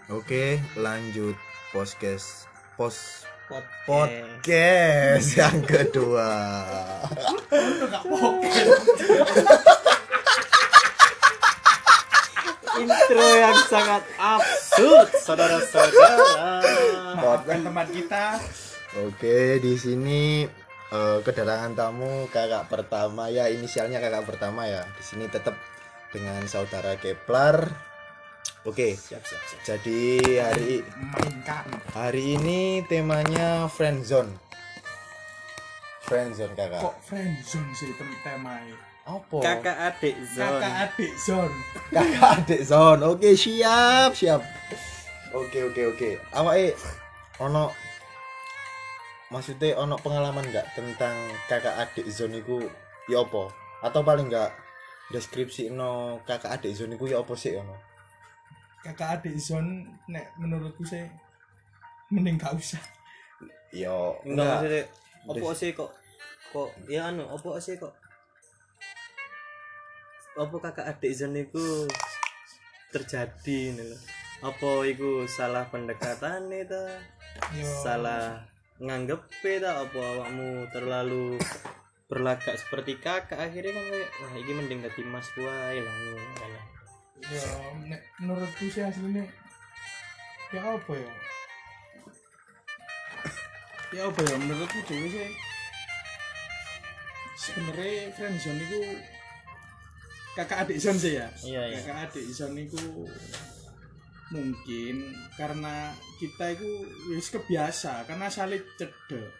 Oke, lanjut podcast Podcast. podcast yang kedua. Intro yang sangat absurd, saudara-saudara. Maafkan teman kita. Oke, di sini kedatangan tamu kakak pertama ya, inisialnya kakak pertama ya. Di sini tetap dengan saudara Kepler. Oke, Siap. jadi Mainkan. hari ini temanya friendzone. Friendzone kakak. Kok friendzone sih temanya? Apa? Kakak adik zone. Kakak adik zone. Kakak adik zone. Oke, siap. Oke. Awake ono maksudnya ono pengalaman enggak tentang kakak adik zone iku ya apa? Atau paling enggak deskripsi no kakak adik zone iku ya apa sih ono? Kakak adik zone nek menurutku sih mending gak usah. Yo, Enggak maksudnya opo sih kok ya opo sih kok opo kakak adik zone iku terjadi nih lho. Apa iku salah pendekatan itu? Yo. Salah nganggep ta apa awakmu terlalu berlagak seperti kakak akhirnya kan kayak wah iki mending dadi mas wae lah ngono. Yo nek menurutku sih aslinya ya apa ya? Ya apa ya menurutku dhewe sih sebenarnya friendzone itu kakak adik zone sih ya. Iya. Kakak adik zone itu mungkin karena kita itu wis kebiasa karena saling cedek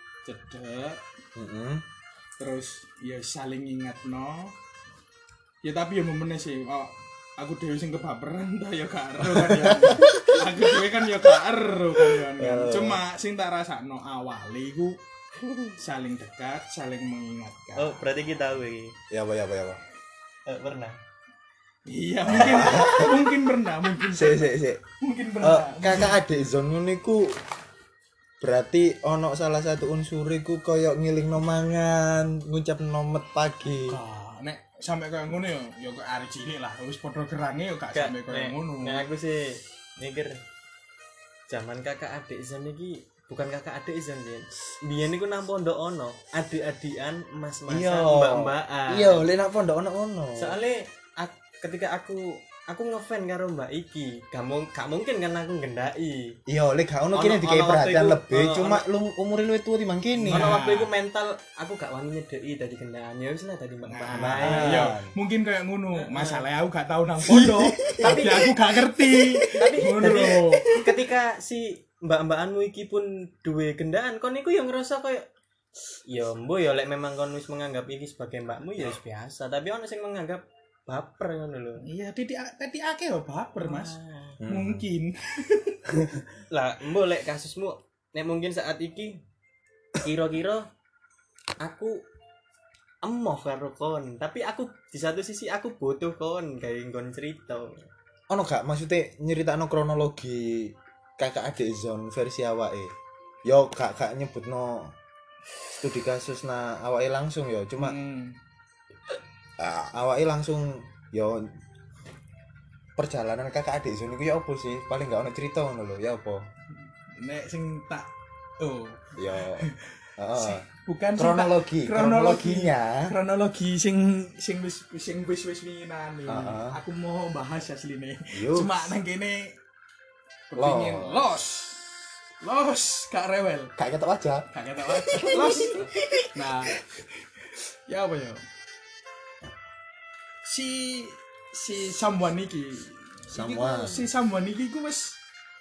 terus ya saling ingatno ya tapi ya momennya sih aku dewe sing kebaperan ta ya gak ero kan ya aku dewe kan ya gak ero kan cuma sing tak rasakno awale iku saling dekat saling mengingatkan. Oh, berarti kita tahu iki. Ya apa. Pernah. Iya mungkin pernah mungkin pernah. Kakak adik zone ngono iku berarti ono salah satu unsur iku koyo ngilingno mangan, ngucapno met pagi. Nek sampe koyo ngono ya kok arek cilik lah wis padha gerange ya gak sampe koyo ngono. Nek aku sih mikir zaman kakak adik zone iki bukan kakak adik zone sih. Biyen iku nang pondok ono adik-adikan mas-masan mbak-mbakan. Iya, lek nang pondok ono ngono. Soale ketika aku ngefan karo mbak iki, gak mungkin kan aku ngendaki. Iya, lek gak ono Ono- kene dikai ono perhatian waktu iku, lebih, ono- cuma lu umure luwih tuwa timbang kene. Ono waktu iku mental aku gak wani nyedeki dadi kendaan. Ya wis lah dadi mbak-mbakan Nah, ae. iya, mungkin kayak ngono. Masalahnya aku gak tahu nang pondok, tapi aku gak ngerti. Tapi Ngono jadi lho. ketika si mbak-mbakanmu iki pun duwe gendaan, kon iku yang ngerasa kayak ya mbo ya lek memang kon wis menganggap iki sebagai mbakmu ya wis biasa, tapi ono sing menganggap baper ngono lho. Iya, tadi akeh yo baper, Mas. Ah. Mungkin. Lah, mbo lek kasusmu nek mungkin saat iki kira-kira aku emoh karo kon, tapi aku di satu sisi aku butuh kon gawe nggon cerita. Ono gak maksudnya nyeritakno kronologi kakak adik zone versi awake? Yo gak nyebutno studi kasus na awake langsung ya, cuma awake langsung yo perjalanan kakak adik zone iku ya apa sih? Paling gak ono cerita ngono lho, ya apa? Nek sing tak Ya heeh. bukan sing Kronologi, tak- kronologinya. kronologi sing wis winginan iki. Heeh. Aku mau bahas asline. Yuk. Cuma nang kene kepingin los gak rewel. Gak ketok aja. Gak ketok aja. Los. Nah, ya apa ya? Si someone iki. Someone. Si someone iki ku wis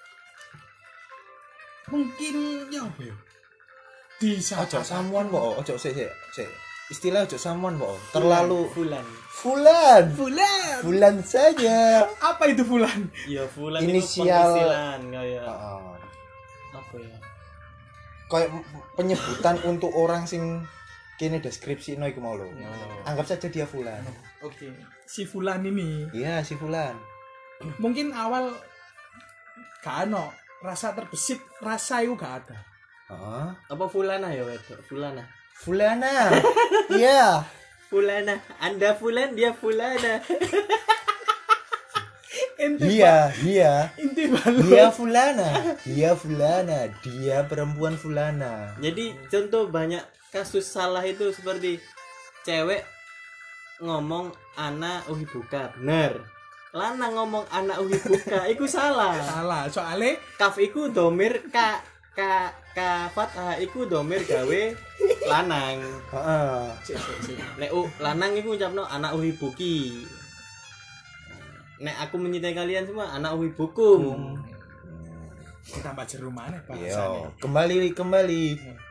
mungkin ya apa ya? Di saat Ojo samuan kok, ojo sik. Istilah ojo samuan kok. Terlalu Fulan. Fulan saja. apa itu Fulan? Ya fulan Inisial. itu panggilan kayak Heeh. apa ya? Kayak penyebutan untuk orang sing kene deskripsi no iku mau lho. Anggap saja dia Fulan. Oke. Si Fulan ini Iya, si Fulan. mungkin awal gak ono rasa terbesit, rasa itu gak ada. Heeh. Apa fulana ya wedok? Fulana. Fulana. Iya. Fulana, Anda fulan, dia fulana. Inti balon. Dia fulana, dia perempuan fulana. Jadi contoh banyak kasus salah itu seperti cewek ngomong ana uhibuka, bener. Lanang ngomong ana uhibuka, iku salah. Salah, soalnya Kaf iku domir ka fathah iku domir gawe lanang. Heeh. Sik. Nek lanang iku ngucapno ana uhibuki. Nek aku mencintai kalian semua ana uhibukum. Ditambah jeru maneh Yo, bahasane. kembali.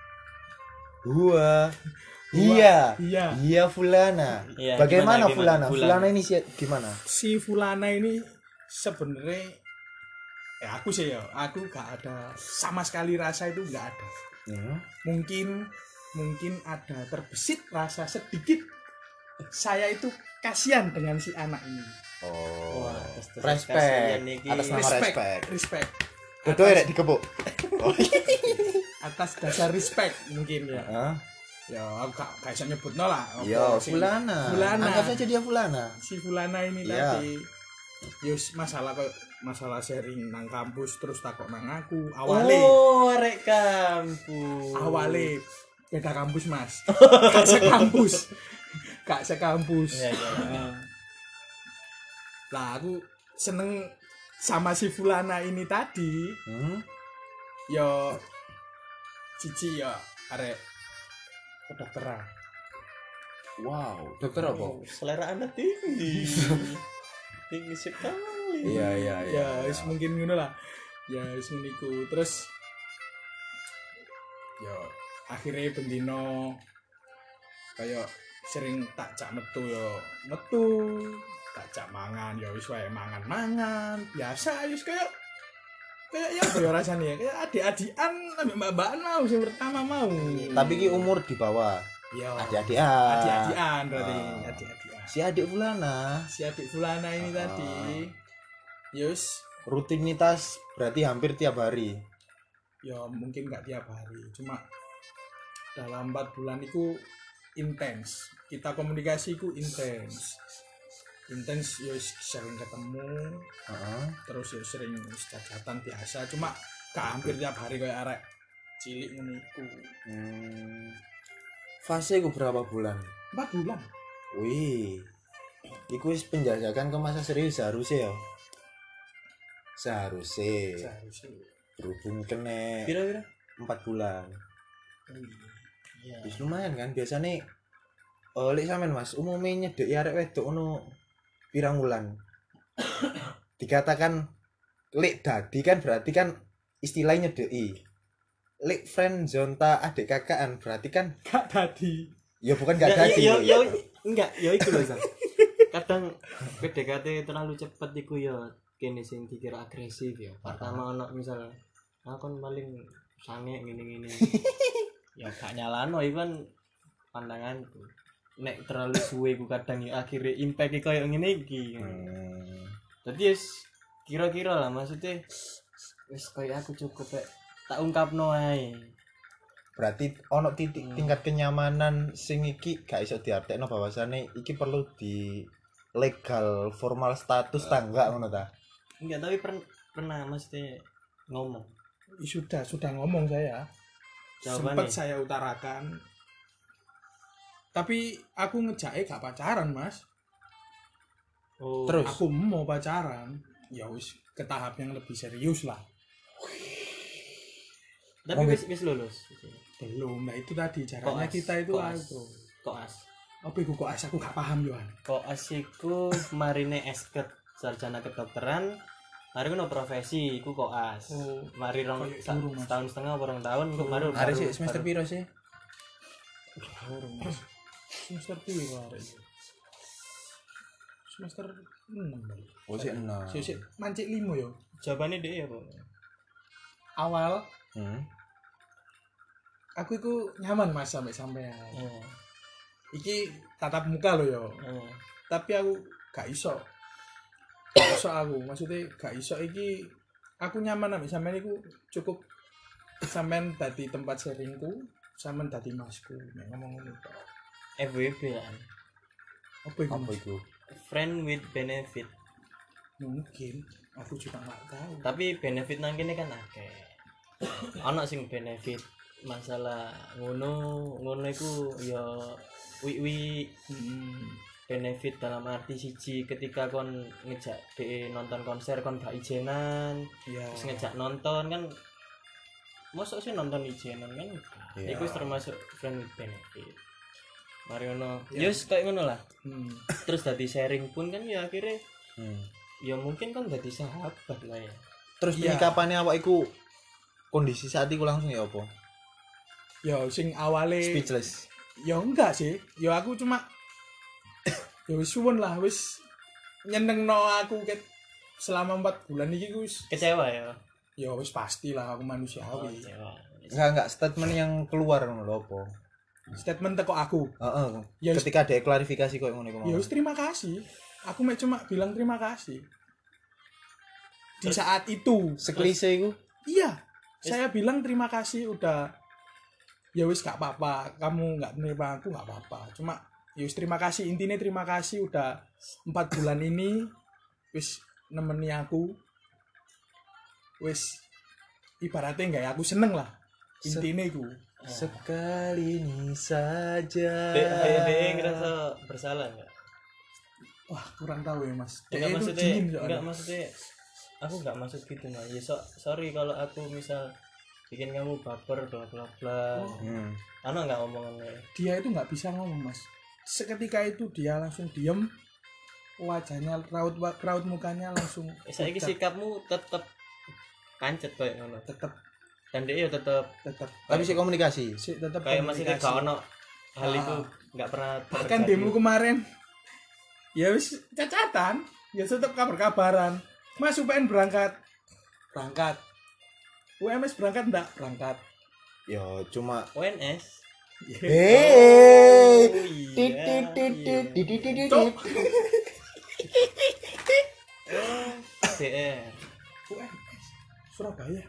Iya. Iya fulana. Iya, Bagaimana gimana? Fulana ini gimana? Si Fulana ini sebenarnya aku sih ya, aku gak ada sama sekali rasa itu gak ada. Mungkin ada terbesit rasa sedikit. Saya itu kasihan dengan si anak ini. Oh. Wah, Respect. kasihan iki. Atas nama Respect. Betul ya dikepuk. Atas dasar respect mungkin ya. Heeh. Ya, aku gak bisa nyebutno lah. Yo, Si Fulana. Fulana. Anggap saja dia Fulana. Si Fulana ini Iya. tadi. Yus masalah sharing nang kampus terus takok nang aku. Awale Arek kampus. awale beda kampus, Mas. Gak sekampus. Iya, iya. Lah aku seneng sama si Fulana ini tadi. Yo cici ya arek kedokteran. Wow, dokter apa? Oh, selera Anda tinggi. Tinggi sekali. Iya. Ya wis mungkin ngono lah. Ya wis niku. Terus ya akhirnya bendino kayak sering tak jak metu tak jak mangan ya wis wae mangan biasa wis kayak ya apa ya rasanya ya kayak adik-adikan ambek mbak-mbakan mau sing pertama mau. Tapi ki umur di bawah. Ya Adik-adikan. adik-adikan berarti adik-adikan. Si adik Fulana. Si adik Fulana ini tadi yus Rutinitas berarti hampir tiap hari. ya mungkin nggak tiap hari cuma dalam 4 bulan itu intens kita komunikasi itu intens ya sering ketemu terus ya sering cacatan biasa cuma gak hampir tiap hari kayak arek cilik ngono iku. Fase ku berapa bulan? 4 bulan Wih. Iku wis penjajakan ke masa serius seharusnya ya. Seharusnya berhubung kena Pira-pira? 4 bulan. Iya. Wis lumayan kan biasanya lek sampean Mas umumnya nyedeki arek wedok ono pirang wulan. Dikatakan lek dadi kan berarti kan istilahnya nyedeki. Lek friend zonta adik kakaan berarti kan gak dadi ya bukan gak dadi. Enggak, ya iku lho, Sang. Kadang PDKT terlalu cepet iku ya kene sing dikira agresif ya. Pertama ono misal aku kan paling sange ngene-ngene. Ya gak nyalano iku kan pandanganku. Nek terlalu suwe ku kadang ya akhirnya impact koyo ngene iki. Dadi wis kira-kira lah maksudnya wis koyo aku cukup tak ungkapno ae. Berarti ono titik tingkat kenyamanan sing iki gak iso diartekno bahwasane iki perlu di legal formal status tangga ngono ta. Enggak, tapi pernah mesti ngomong. sudah ngomong saya. Jawabannya? Sempat saya utarakan. Tapi aku ngejake gak pacaran, Mas. Oh, Terus Aku mau pacaran. Ya wis ke tahap yang lebih serius lah. tapi wis lulus. Belum. Nah itu tadi caranya kita itu aku. Koas. Apa iku koas aku gak paham Yohan. Koas iku marine esket sarjana kedokteran. Mari ngono profesi iku koas. Oh, Mari setahun setengah apa 2 tahun iku baru. hari sih semester piro sih? Mas. Semester piro arek? Semester 6. Oh sih 6. Sik mancik 5 yo. Jawabannya dia apa? Awal aku iku nyaman Mas sampai sampean. Oh. Iki tatap muka lo yo. Oh. Tapi aku gak iso. Gak iso aku, maksudnya gak iso iki aku nyaman ambek sampean iku cukup sampean dadi tempat sharingku, sampean dadi masku. Nek ngomong ngono tok. FWB kan. Apa iku? Apa Mas? iku? Friend with benefit. Mungkin aku juga nggak tahu. Tapi benefit nang kene kan akeh. Ana sing benefit masalah ngono iku ya wi benefit dalam arti siji ketika kon ngejak DE nonton konser kon gak ijenan Ya. terus ngejak nonton kan mosok sih nonton ijenan kan Iya. iku termasuk friend with benefit mari ngono Ya. yus kayak ngono lah Hmm. terus dadi sharing pun kan ya akhirnya Hmm. ya mungkin kan dadi sahabat lah ya Terus Iya. penyikapannya awak iku kondisi saat iku langsung ya apa? Ya sing awale Speechless. ya enggak sih. Ya aku cuma ya wis suwun lah wis nyenengno aku ket selama 4 bulan iki wis kecewa ya ya wis pastilah aku manusiawi. kecewa Enggak statement yang keluar ngono lho apa? Statement teko aku. Heeh. Ya, Ketika ada klarifikasi kok ngono iku. Ya wis terima kasih. Aku cuma bilang terima kasih. Di saat itu. Seklise iku. Iya. Saya bilang terima kasih udah ya wis gak apa-apa. Kamu gak menerima aku gak apa-apa. Cuma ya wis terima kasih. Intinya terima kasih udah 4 bulan ini wis nemeni aku. Wis ibaratnya enggak ya aku seneng lah. Intinya iku. Sekali ini saja. DE ngerasa bersalah nggak? Wah, kurang tahu ya, Mas. Enggak Dia itu maksudnya dingin soalnya. enggak maksudnya aku enggak maksud gitu nah ya sorry kalau aku misal bikin kamu baper bla bla bla ana enggak omongannya Dia itu nggak bisa ngomong, Mas. Seketika itu dia langsung diem, wajahnya raut mukanya langsung saiki pucat. sikapmu tetep pancet kayak ngono tetep dan dia ya tetep Tapi sih komunikasi. tetep kayak maksudnya komunikasi. gak ono hal itu Ah. enggak pernah Bahkan terjadi. demo kemarin ya wis cacatan, ya tetep kabar-kabaran. Mas UPN berangkat. UMS berangkat enggak? Berangkat. Ya cuma ONS Hei. Oh, iya. Cok. DR UMS Surabaya.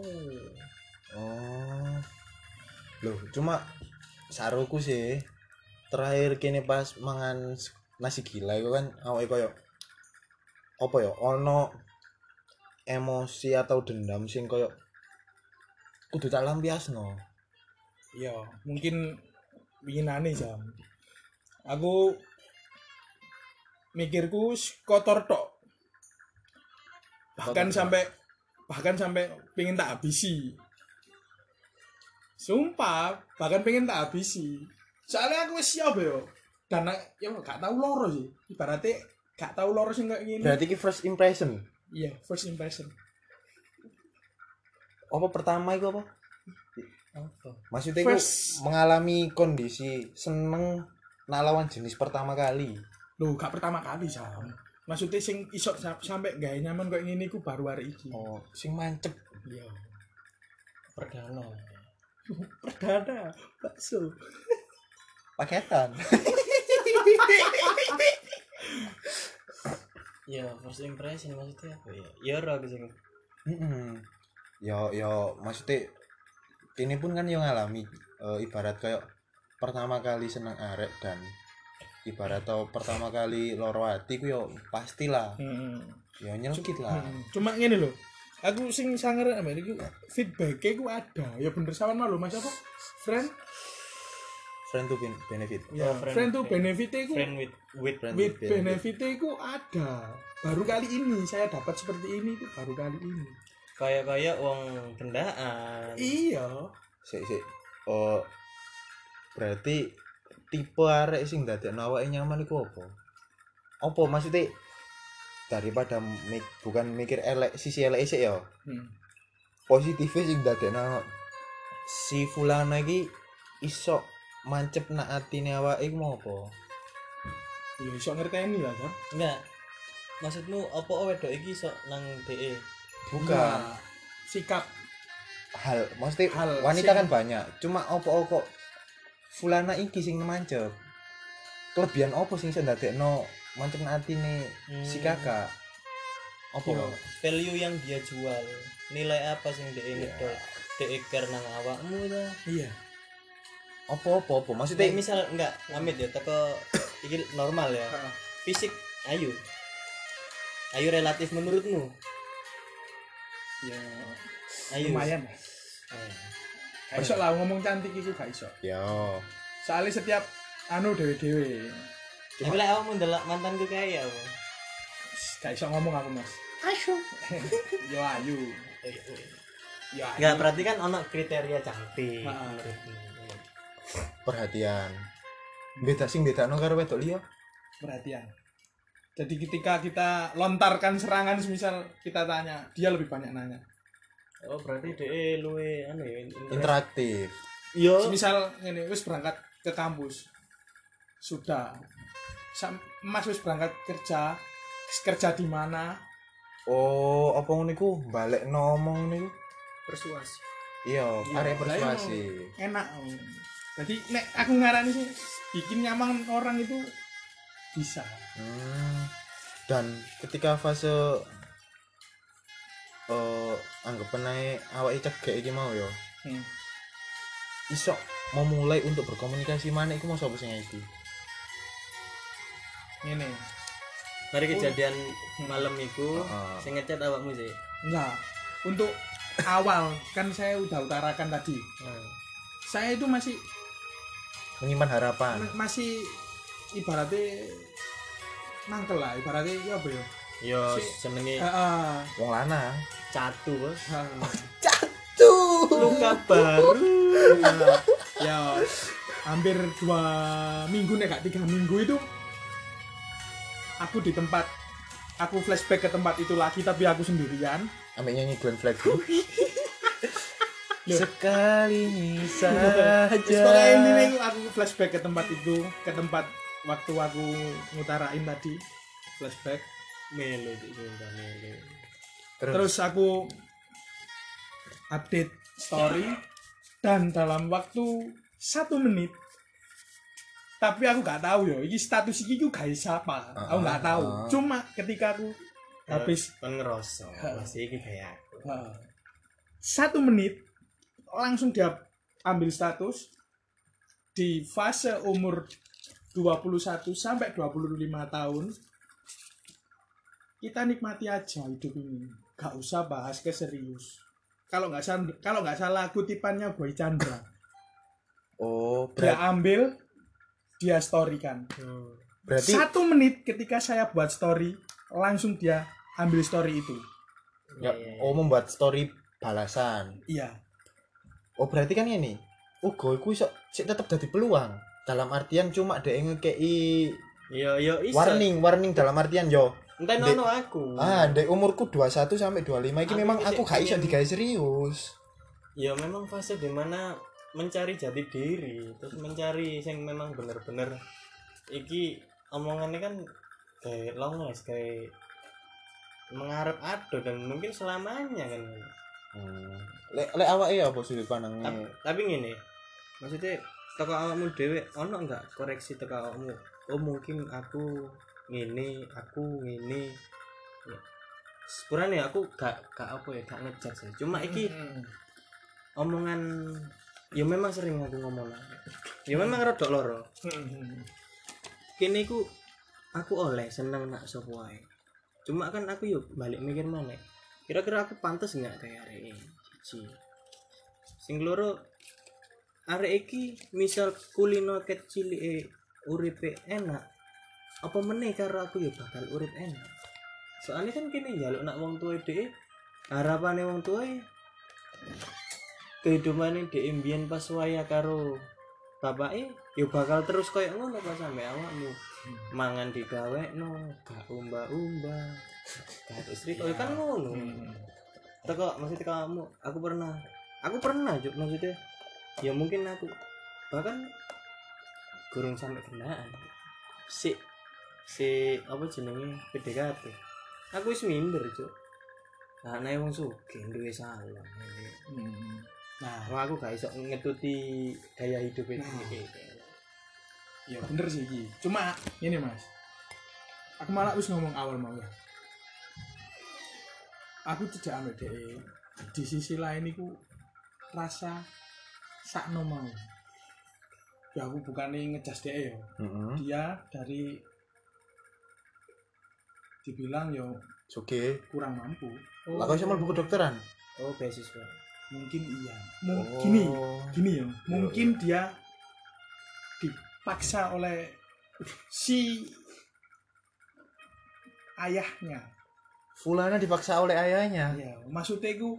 Oh. Loh, cuma saruku sih terakhir kini pas mangan nasi gila itu kan awake koyo apa ya ono emosi atau dendam sing koyo kudu tak lampiasno. Ya, mungkin winginane jam. Aku mikirku kotor tok. Bahkan sampai pengen tak habisi. Sumpah, bahkan pengen tak habisi. Soalnya aku wis siap yo. Dan ya gak tahu loro sih. Ibaratnya gak tahu loro sing kayak gini. Berarti ki first impression. Iya, first impression. Apa pertama itu apa? apa Maksudnya itu First. mengalami kondisi seneng nak lawan jenis pertama kali. Loh, gak pertama kali, Sam. Maksudnya sing iso sampai gak nyaman kayak gini ku baru hari iki. Oh, sing mancep. Iya. perdana Perdana, bakso. Paketan. ya first impression maksudnya apa ya ya ora aku sing Yo maksudnya ini pun kan yang ngalami ibarat kayak pertama kali seneng arek dan ibarat tau pertama kali loro hati ku yo pastilah yo nyelkit lah. Cuma ngene lho. Aku sing sanger ambek iki feedback-e ku ada. Ya bener sama lho Mas apa? Friend Friend to benefit. ya, friend to benefit-e ku friend with with benefit-e ku ada. Baru kali ini saya dapat seperti ini itu baru kali ini. kayak uang kendaan Iya. Sik. Oh berarti tipe arek sing dadekno awake nyaman iku apa? Apa maksudnya daripada bukan mikir elek sisi elek sik ya. Positifnya sing dadekno si fulana iki iso mancep nak atine awake iku mau apa? Ya iso ngerteni lah, Sam. enggak maksudmu apa wedok iki sok nang DE Bukan Nah, sikap hal maksudnya Hal wanita sing- kan banyak cuma opo kok fulana iki sing mancep kelebihan opo sing iso ndadekno mancep nak atine si kakak opo Yo. value yang dia jual nilai apa sing DE ngedol DE care nang awakmu ta iya. opo maksudnya Nek misal enggak, amit ya teko iki normal ya. Heeh. Fisik ayu. Ayo relatif menurutmu. Ya Ayo. lumayan lah. Gak iso lah ngomong cantik iku gak iso. Yo. Soalnya setiap dewe-dewe. Tapi lah awakmu ndelok mantanku kayak apa? Gak iso ngomong aku, Mas. Ayo. Yo ayu. Ya. Enggak, berarti kan ono kriteria cantik. Heeh. menurutmu. Perhatian. Beda sing bedakno karo wedok liya. Perhatian. Jadi ketika kita lontarkan serangan misal kita tanya, dia lebih banyak nanya. Oh, berarti DE luwe anu ya. Interaktif. Yo. Misal ngene wis berangkat ke kampus. Sudah. Mas wis berangkat kerja di mana? Oh, apa ngono iku? Balekno omong niku. Persuasi. Iya, Iya, arek lah, persuasi. Enak. Jadi nek aku ngarani sih bikin nyaman orang itu bisa. Dan ketika fase anggapan ae awake cegek iki mau ya. Iso memulai untuk berkomunikasi mana iku mau sapa sing iki? Ngene. Mari kejadian malam iku Heeh. sing ngechat awakmu sih. Enggak. Untuk awal kan saya udah utarakan tadi. Saya itu masih Menyimpan harapan. ibaratnya mangkel lah, ibaratnya ya apa ya? Yo senenge Wong lanang. catu, Bos. Tuh. Luka baru. Ya hampir 2 minggu nih, gak 3 minggu itu aku flashback ke tempat itu lagi tapi aku sendirian. Ambek nyanyi Glenn Fredly. Loh. Sekali Terus saja. pokoknya ini aku flashback ke tempat itu, ke tempat waktu aku ngutarain tadi, flashback. Melo Cuk, sumpah melo. Terus aku update story dan dalam waktu 1 menit, tapi aku gak tahu ya ini status ini juga siapa, aku gak tahu. Cuma ketika aku habis Kan ngerasa masih iki kayak aku. 1 menit langsung dia ambil status di fase umur 21 sampai 25 tahun. Kita nikmati aja hidup ini, gak usah bahas ke serius. Kalau nggak salah kutipannya Boy Chandra. Oh, Dia ambil, dia storykan. berarti 1 menit ketika saya buat story, langsung dia ambil story itu. ya, membuat story balasan. Iya. Oh, berarti kan ini. Ugo iku iso sik tetep dadi peluang. Dalam artian cuma dhek ngekei Yo iso. warning dalam artian yo. Entah Dek. nono aku. Ndek umurku 21 sampai 25 iki Aku memang iki aku gak iso pengen- digawe serius. Ya memang fase dimana mencari jati diri, terus mencari yang memang bener-bener iki omongannya kan kayak longes, kayak mengharap ado dan mungkin selamanya kan. Lek awake ya apa sudut pandangnya? Tapi ngene, maksudnya teko awakmu dhewe ono enggak koreksi teko awakmu? Oh mungkin aku ngene. Ya. Sepurane aku gak apa ya, gak ngejudge sih. Cuma iki omongan ya memang sering aku ngomong lah. Ya memang rodok loro. Kene iku aku oleh seneng nak sapa wae. Cuma kan aku yuk balik mikir maneh. Kira-kira aku pantas enggak kayak arek iki. Sing loro arek iki misal kulino kecil uripe enak. Apa meneh karo aku ya bakal urip enak. Soalnya kan kene njaluk nak wong tuwa dhek harapane wong tuwa kehidupane dhek mbiyen pas waya karo bapake ya bakal terus koyo ngono pas sampe awakmu. Mangan digawekno, gak umba-umba. Gak istri koyo kan ngono. Teko maksud kamu, aku pernah juk maksudnya ya mungkin aku bahkan gurung sampai kenaan. Si apa jenenge PDKT. Aku wis minder, Cuk. Nah, nek wong sugih duwe salon. Nah, aku gak iso ngetuti gaya hidup iki. Ya bener sih iki. Cuma ini Mas. Aku malah wis ngomong awal mau ya. Aku tidak ambil DE. Di sisi lain iku rasa sakno mau. Ya aku bukannya ngejas DE ya. Dia dari dibilang yo Oke. kurang mampu. Lah kok iso mlebu kedokteran? Oh, beasiswa. Mungkin iya. Oh. Gini ya. Mungkin dia dipaksa oleh si ayahnya. Fulana dipaksa oleh ayahnya. Ya, maksudnya itu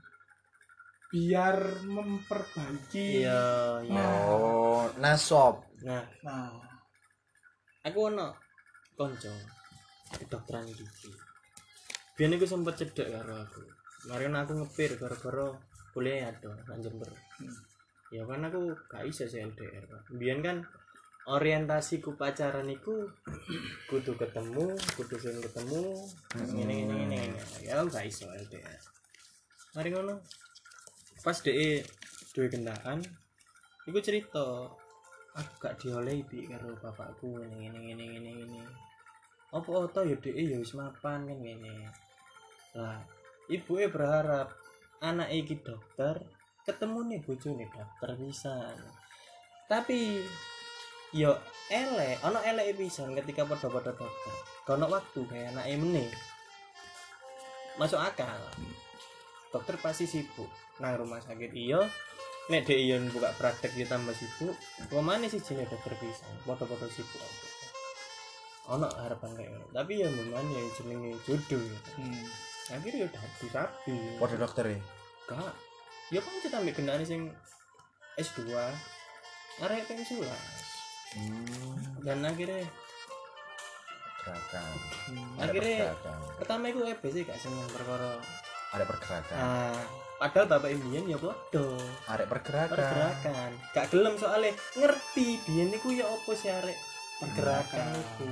biar memperbaiki. Iya, iya. Oh, nasop. Nah, Nah, aku ono konco kedokteran gigi. Biyen iku sempet cedek karo aku. Mari aku ngepir gara-gara kuliah ado nang Jember. Ya kan aku gak iso LDR. Biyen kan orientasi ku pacaran iku kudu ketemu, kudu sering ketemu, ngene. Ya aku gak iso LDR. Mari ngono. Pas dhek duwe kendaraan, iku cerita aku gak diolehi bi karo bapakku ngene. Apa to ya dhek ya wis mapan kan ngene. Lah, ibuke berharap anak iki dokter, ketemu nih bojone dokter pisan. Tapi yo elek, ana eleke pisan ketika padha-padha dokter. Kono waktu kayak anake meneh. Masuk akal. Dokter pasti sibuk nang rumah sakit iya. Nek dhek iya buka praktek yo tambah sibuk. Pemane sih jenenge dokter pisan, padha-padha sibuk. Ana harapan kayak ngono. Tapi ya memang ya jenenge jodoh ya. Akhirnya udah dirapi. Padha dokter e. Kak, ya kan kita ambil kendaraan sing S2 arek pensiun. Dan akhirnya Pergerakan. akhirnya pertama itu sih gak seneng perkara Ada pergerakan. padahal bapak imbian ya podo Arek pergerakan. pergerakan gak gelem soalnya ngerti biyen niku ya apa sih arek pergerakan iku.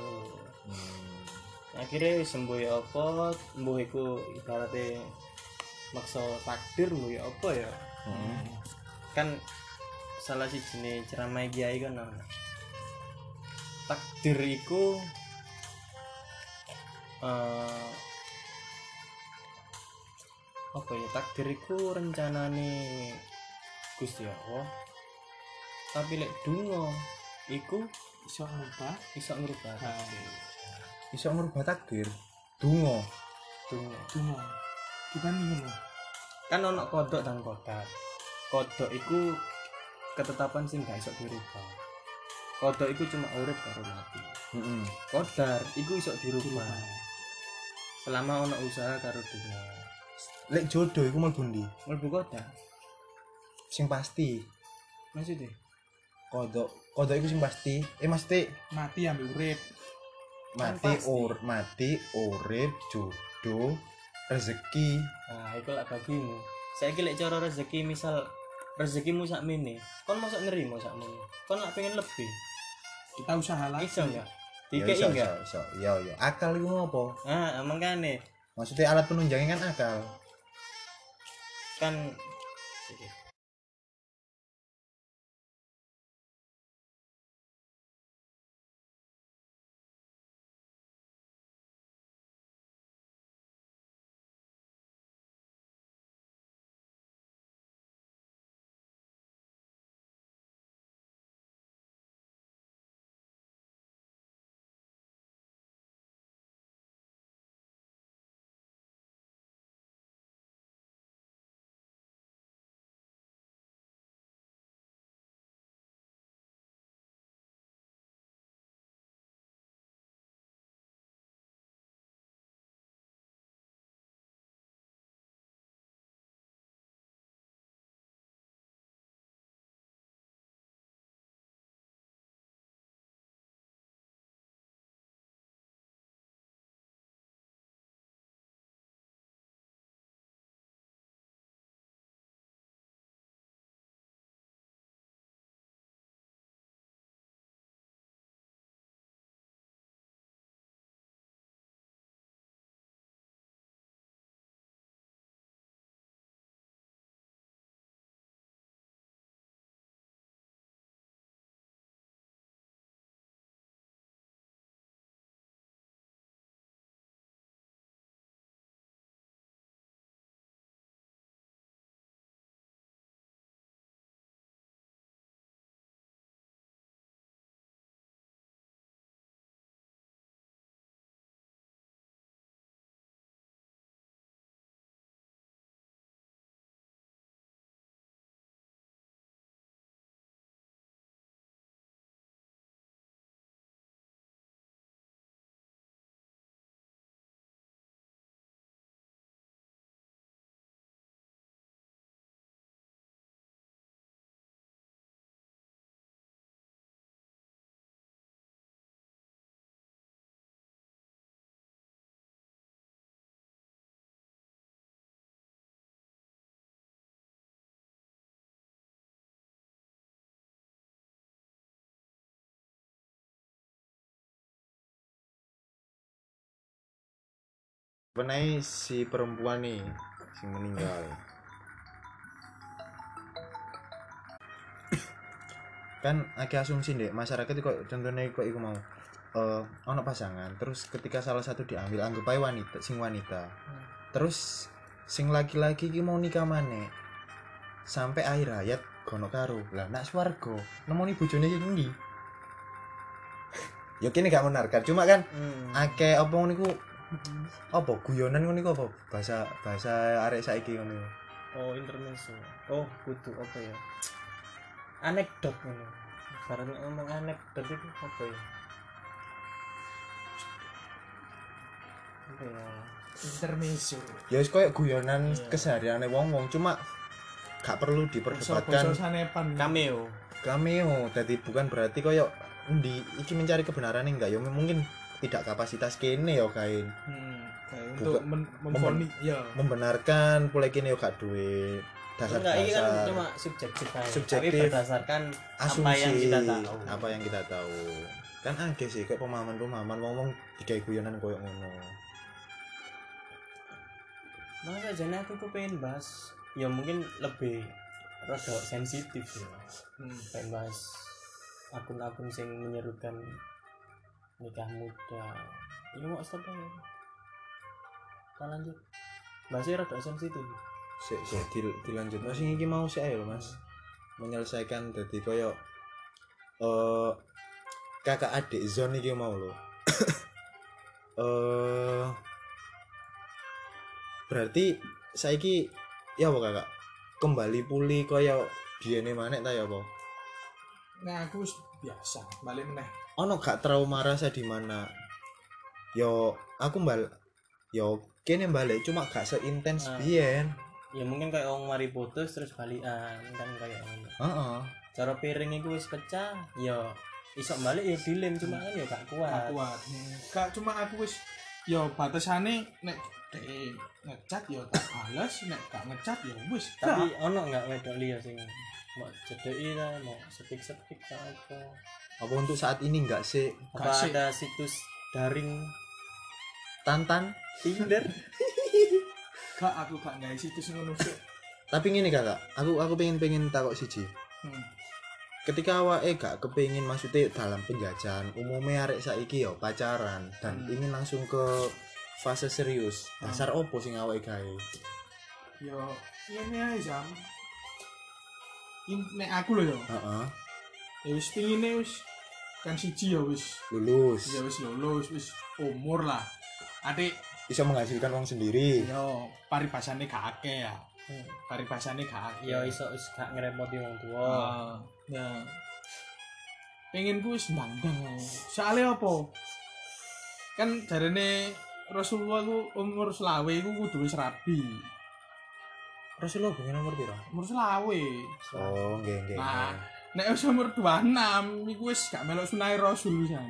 Akhirnya sembuh ya apa mbuh iku ibaratnya maksa takdir mbuh ya apa ya. Kan salah siji ceramah kiai kan takdir iku apa ya takdir iku rencanane Gusti Allah. Tapi lek donga iku iso ngubah. iso ngrubah takdir. Iso ngerubah takdir. Donga. Dungo. Bukan ngono. Kan ono kodok dan kodar. Kodok iku ketetapan sing gak iso dirubah. Kodok iku cuma urip karo mati. Kodar iku iso dirubah. Selama ono usaha karo dunia. Lek jodoh iku mlebu ndi? Mlebu kodar. Sing pasti. Maksudnya Kodok iku sing pasti. Mesti Mati ambil urip. mati urip jodoh rezeki. Nah, iku lak bagimu. Saiki lek cara rezeki misal rezekimu sakmene, kon mosok nerimo sakmene. Kon lak pengen lebih. Kita usaha lagi. Iso enggak? Ya, Dikei enggak? iso. Iya. Akal iku ngopo? Mangkane Maksudnya alat penunjangnya kan akal. kan Penai si perempuan nih sing meninggal. Kan akeh asumsi ndek masyarakat kok contohnya kok iku mau ono pasangan terus ketika salah satu diambil anggap ae wanita terus sing laki-laki ki mau nikah maneh sampai akhir hayat gono karo lah nak swarga nemoni bojone sing ndi ya kene gak menarkan cuma kan akeh apa ngono iku apa guyonan ngono iku apa bahasa arek saiki ngono Oh, intermezzo. Oh, kudu apa ya? Anekdot ngono. Bareng ngomong anekdot itu apa ya? Apa ya? Intermezzo. ya wis koyo guyonan Iya. kesehariane wong-wong cuma gak perlu diperdebatkan Basa sanepan. Cameo. dadi bukan berarti koyo endi iki mencari kebenaran enggak ya mungkin tidak kapasitas kene ya kain Kayak untuk memfoni ya. membenarkan pula kene yo gak duwe Enggak, ini kan dasar-dasar cuma subjektif aja. Subjektif. Tapi berdasarkan asumsi apa yang kita tahu. apa yang kita tahu kan akeh sih kayak pemahaman ngomong digawe guyonan koyo ngono Masa jane aku pengen bahas ya mungkin lebih rada sensitif ya. Pengen bahas akun-akun yang menyerukan nikah muda. Ini mau stop ya. Kita lanjut. Bahasnya rada sensitif. sik dilanjut mas iki mau sik ae lho mas menyelesaikan dadi koyo kakak adik zone iki mau lho berarti saiki ya apa kakak kembali pulih koyo biyen maneh ta ya apa Nah, aku wis biasa, balik meneh. ono gak trauma rasa di mana yo aku yo kene balik cuma gak seintens biyen Ya mungkin kayak orang mari putus terus balikan kan kayak ngono. heeh Cara piring iku wis pecah, ya iso balik ya dilem cuma kan ya gak kuat. Gak kuat. Gak cuma aku wis ya batasane nek dhek ngecat ya tak bales, nek gak ngecat ya wis. Tapi ono enggak wedok liya sing mau cedeki ta, mau sepik-sepik ta apa. apa untuk saat ini enggak sih Apa Gak sih. ada situs daring Tantan Tinder? Gak aku gak gawe situs ngono sih. tapi ngene kakak aku pengen takok siji ketika awake gak kepengin maksudnya dalam penjajahan umumnya arek saiki yo pacaran dan ingin langsung ke fase serius dasar opo sing awake gawe Yo ini ae jam. Nek aku lho yo. heeh Ya wis pingine wis kan siji ya wis. lulus Ya wis lulus, wis umur lah. Adik bisa menghasilkan uang sendiri yo paribasane gak akeh ya. Paribasane gak akeh. Ya iso wis gak ngrepoti wong tuwa. Ya. Pengen ku wis ndang-ndang. Soale apa? Kan jarene Rasulullah ku umur selawe ku kudu wis rabi. Rasulullah pengen nomor piro Umur selawe. oh nggih Nah, nek wis umur 26 iku wis gak melok sunah Rasul pisan.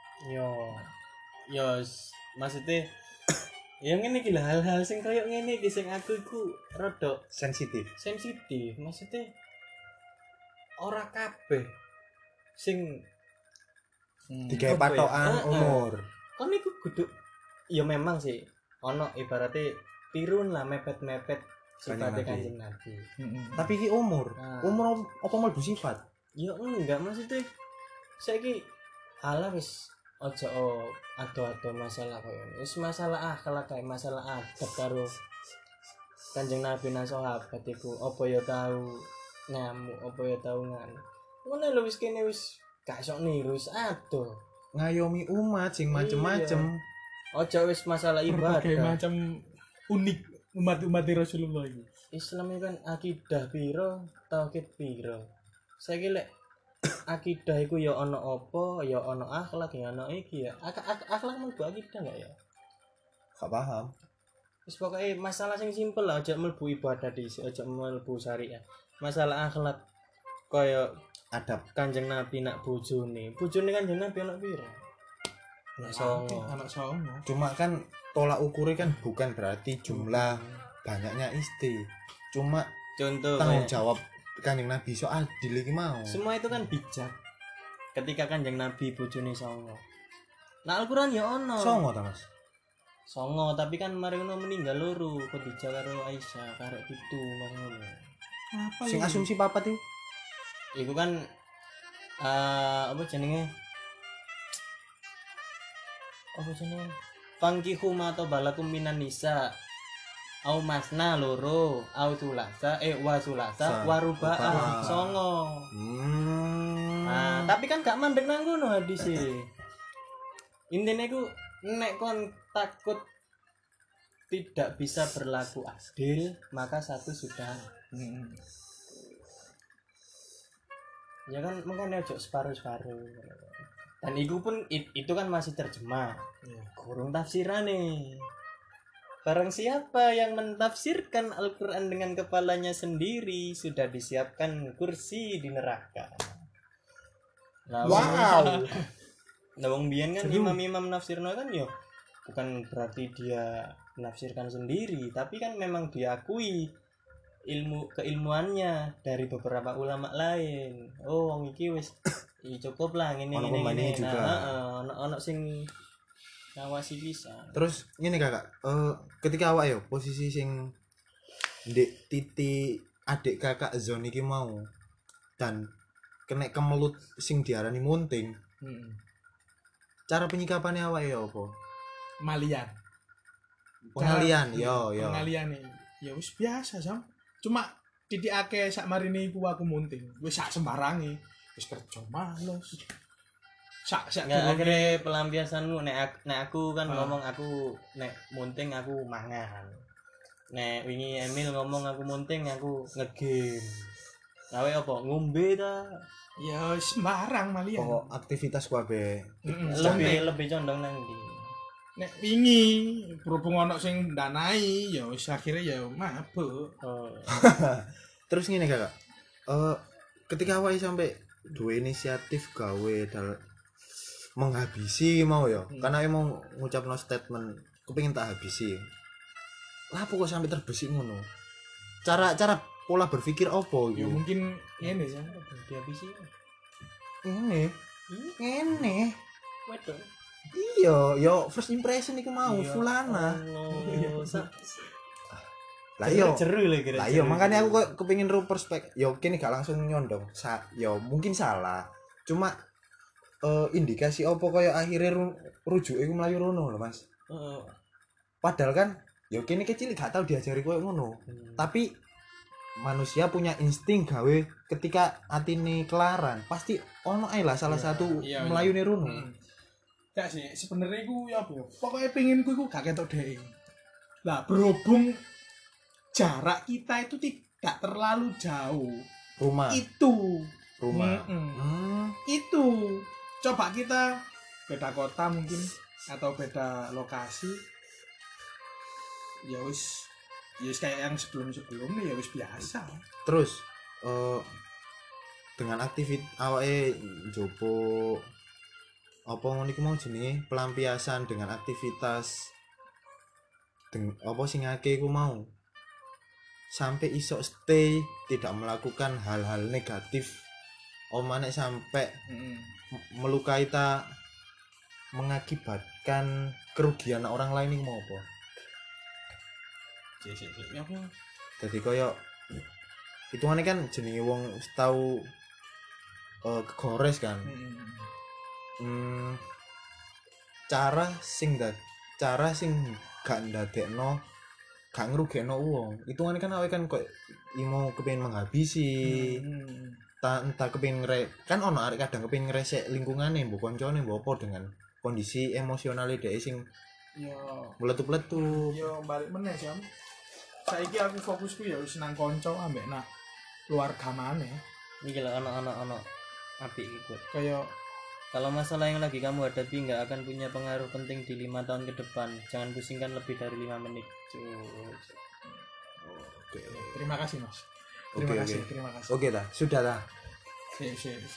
Yo maksudnya ya ngene iki lah hal-hal sing koyo ngene iki sing aku iku rada sensitif sensitif. Maksudnya ora kabeh sing digawe apa ya? patokan umur Kan iku kudu ya memang sih ono ibaratnya pirun lah mepet-mepet sifatnya Kanjeng Kanjeng Nabi. tapi iki umur Nah. umur apa mlebu sifat Ya enggak maksudnya saiki ala wis ojo ado-ado masalah koyo ngene. Wis masalah akhlak kae masalah adab karo Kanjeng Nabi nang sahabat iku apa ya tau ngamuk apa ya tau ngono. Ngono lho wis kene wis gak sok niru wis ado. ngayomi umat sing macem-macem Ojo wis masalah Berbagai ibadah. macam unik umat-umat Rasulullah itu. Islam itu kan akidah piro, tauhid piro. Saiki lek akidah iku ya ana apa, ya ana akhlak, ya ana iki ya. Akhlak mlebu akidah enggak ya? gak paham Wis pokoke masalah sing simpel lah, aja mlebu ibadah dhisik, aja mlebu syariat. Masalah akhlak kaya adab Kanjeng Nabi nak bojone. Bojone Kanjeng Nabi ana piro? Anak songo. Anak songo. cuma kan tolak ukurnya kan bukan berarti jumlah banyaknya istri cuma Contoh tanggung kayak- jawab Kanjeng Nabi so adil iki mau Semua itu kan bijak. Ketika Kanjeng Nabi bojone songo. Nah Al-Qur'an ya ono. songo ta mas songo tapi kan mari ngono meninggal loro Khadijah karo Aisyah karek pitu mari ngono. Apa Sing ini? asumsi papat itu. Iku kan apa jenenge? Apa jenenge? Fangkihu ma balakum minan nisa. Au masna loro, au sulasa, wa sulasa, warubaa Rubaa. songo. Nah, tapi kan gak mandek nang ngono hadise. Intine ku nek kon takut tidak bisa berlaku adil, maka satu sudah. Ya kan makanya ojo separuh-separuh. Dan itu kan masih terjemah. Kurung tafsirane. Barang siapa yang mentafsirkan Al-Quran dengan kepalanya sendiri, sudah disiapkan kursi di neraka. Nah, Wow. Nah, wong biyen kan Seru. imam-imam nafsirno kan yo bukan berarti dia menafsirkan sendiri, tapi kan memang diakui keilmuannya dari beberapa ulama lain. Oh, wong iki wis cukup lah ngene Ono ngene pemainnya ngene. juga. Nah, ono sing ngawasi bisa. Terus ngene Kakak, ketika awak yo posisi sing ndek titik adik Kakak Zon iki mau dan kena kemelut sing diarani munting, cara penyikapannya awak yo apa? Malian. Pengalian, yo. Pengalian ya wis biasa sam. Cuma titik akeh sak marine iku aku munting. Wis sak sembarange. Wis kerja males. Sak Nggak, durunge akhirnya pelampiasanmu nek aku kan Ah. ngomong aku nek munting aku mangan. Nek wingi Emil ngomong aku munting aku ngegame. Gawe apa? Ngombe ta? ya sembarang malian. Pokok aktivitas kabeh. Lebih condong nang ndi? Nek wingi berhubung ono sing danai ya wis akhire ya mabuk. Oh. Terus ngene Kakak. Ketika awak sampai dua inisiatif gawe menghabisi mau ya. Karena emang ngucapno statement kepengin tak habisi. Lah kok sampai terbesit ngono. Cara pola berpikir opo Ya iku? mungkin ngene ya. Dihabisi. Ngene. Wedok. Iya, yo first impression iku mau fulana. Oh, Lah iya. Jeru lagi. Lah iya makanya aku kok kepengin ru perspektif. Yo kene gak langsung nyondong. Yo mungkin salah. Cuma indikasi opo kaya akhirnya rujuk iku mlayu rono lho Mas. Padahal kan yo kene kecil gak tau diajari koyo ngono. Tapi manusia punya insting gawe ketika atine kelaran pasti ono ae lah salah satu iya. melayune rono. Gak sih, sebenarnya iku ya apa ya? Pokoknya penginku iku gak ketok dhek. Lah berhubung jarak kita itu tidak terlalu jauh. Rumah. Rumah. Itu. Coba kita beda kota mungkin atau beda lokasi. Ya wis kayak yang sebelum-sebelumnya ya wis biasa. Terus dengan aktivitas awake jopo apa ngono iku mau jenenge pelampiasan dengan aktivitas apa sing akeh iku mau sampai iso stay tidak melakukan hal-hal negatif omane sampai melukai ta mengakibatkan kerugian orang lain iku mau apa? Ya apa? Jadi koyo hitungane kan jenenge wong tau kegores kan. Cara sing gak ndadekno gak ngrugekno wong. Hitungane kan awake kan kok imo kepengin menghabisi. Entah kepengin kan ono arek kadang kepengin ngresek lingkungane mbok koncone mbok apa dengan kondisi emosionale dhek sing Ya meletup-letup. ya balik meneh jam. Saiki aku fokusku ya wis nang kanca ambek nak keluarga maneh. Iki lho ono apik iki. Kayak Kalau masalah yang lagi kamu hadapi nggak akan punya pengaruh penting di 5 tahun ke depan. Jangan pusingkan lebih dari 5 menit. Oke. terima kasih Mas. Oke, Terima kasih. Oke dah, sudah lah. Si.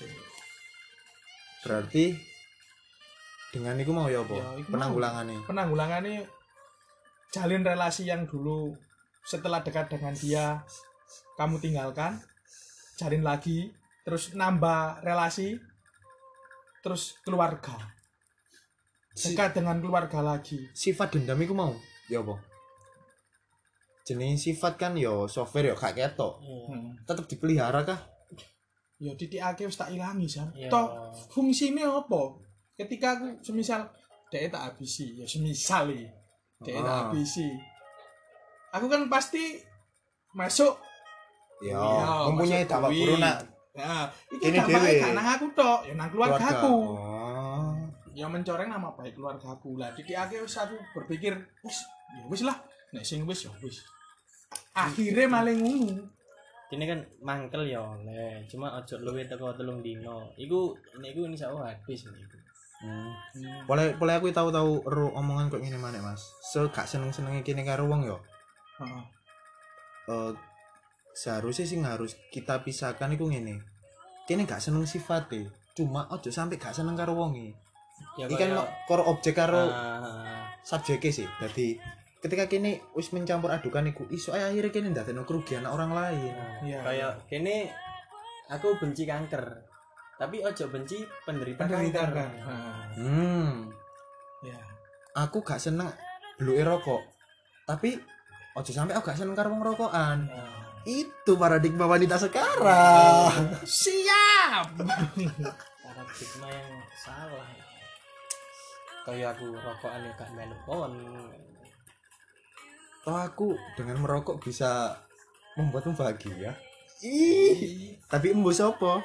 Berarti dengan iku mau ya apa? Ya, iku mau. Penanggulangannya. Penanggulangannya jalin relasi yang dulu setelah dekat dengan dia kamu tinggalkan, jalin lagi, terus nambah relasi, terus keluarga. dekat dengan keluarga lagi. Sifat dendam iku mau ya apa jenis sifat kan yo software yo gak ketok tetep dipelihara kah Ya titikake wis tak ilangi Sam. Iya. Toh fungsine apa? Ketika aku semisal dhek tak habisi, ya semisal iki. Dhek tak habisi. Aku kan pasti masuk ya Iya, mempunyai masuk dampak kuwi. buruk nak Nah, iki Ini dampaknya dhewe. gak nang aku tok, ya nang keluargaku. oh Ya mencoreng nama baik keluargaku. Lah titikake wis aku berpikir, wis lah, nek sing wis ya wis. Akhirnya malah ngono. Ini kan mangkel ya oleh, cuma ojo luwih teko 3 dino. Iku insyaallah habis niku. boleh aku tahu omongan kok ngene maneh Mas gak seneng-senenge kene karo wong yo Heeh. seharusnya sih harus kita pisahkan itu ngene kene gak seneng sifatnya cuma ojo sampai gak seneng karo wonge Ya iki kan karo objek karo ah, subjeknya sih jadi ketika kene wis mencampur adukan iku iso ae akhirnya kene ndadekno kerugian orang lain Iya. kayak kene aku benci kanker. Tapi ojo benci penderita Penderita kanker. kan. Ya. aku gak seneng bluke rokok tapi ojo sampai aku gak seneng karo wong rokokan itu paradigma wanita sekarang Siap. Paradigma yang salah. Kayak aku rokokan ya gak melu kon. toh aku dengan merokok bisa membuatmu bahagia ih tapi embus apa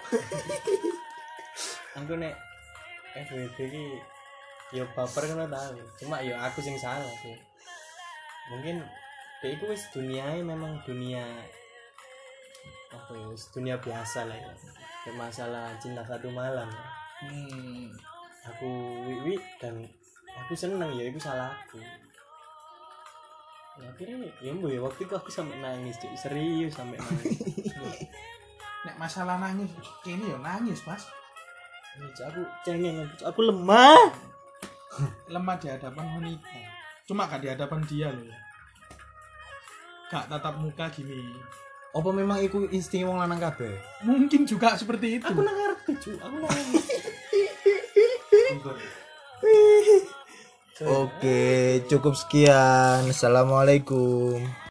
Aku nek FWB ki yo baper kan tahu. Cuma yo aku sing salah sih. Mungkin dia itu wis duniae memang dunia apa ya wis dunia biasa lah ya. Kayak masalah cinta satu malam. Aku wiwi dan aku seneng ya itu salahku. Ya akhirnya ya mbak ya waktu itu aku sampai nangis cuy serius sampai nangis. Nek masalah nangis, kene ya nangis, Mas. Ya, Cuk, aku cengeng aku lemah. Lemah di hadapan wanita. Cuma gak di hadapan dia loh ya. Gak tatap muka gini. apa memang iku insting wong lanang kabeh Mungkin juga seperti itu. Aku nang ngerti cuy aku nangis. Oke, cukup sekian. Assalamualaikum.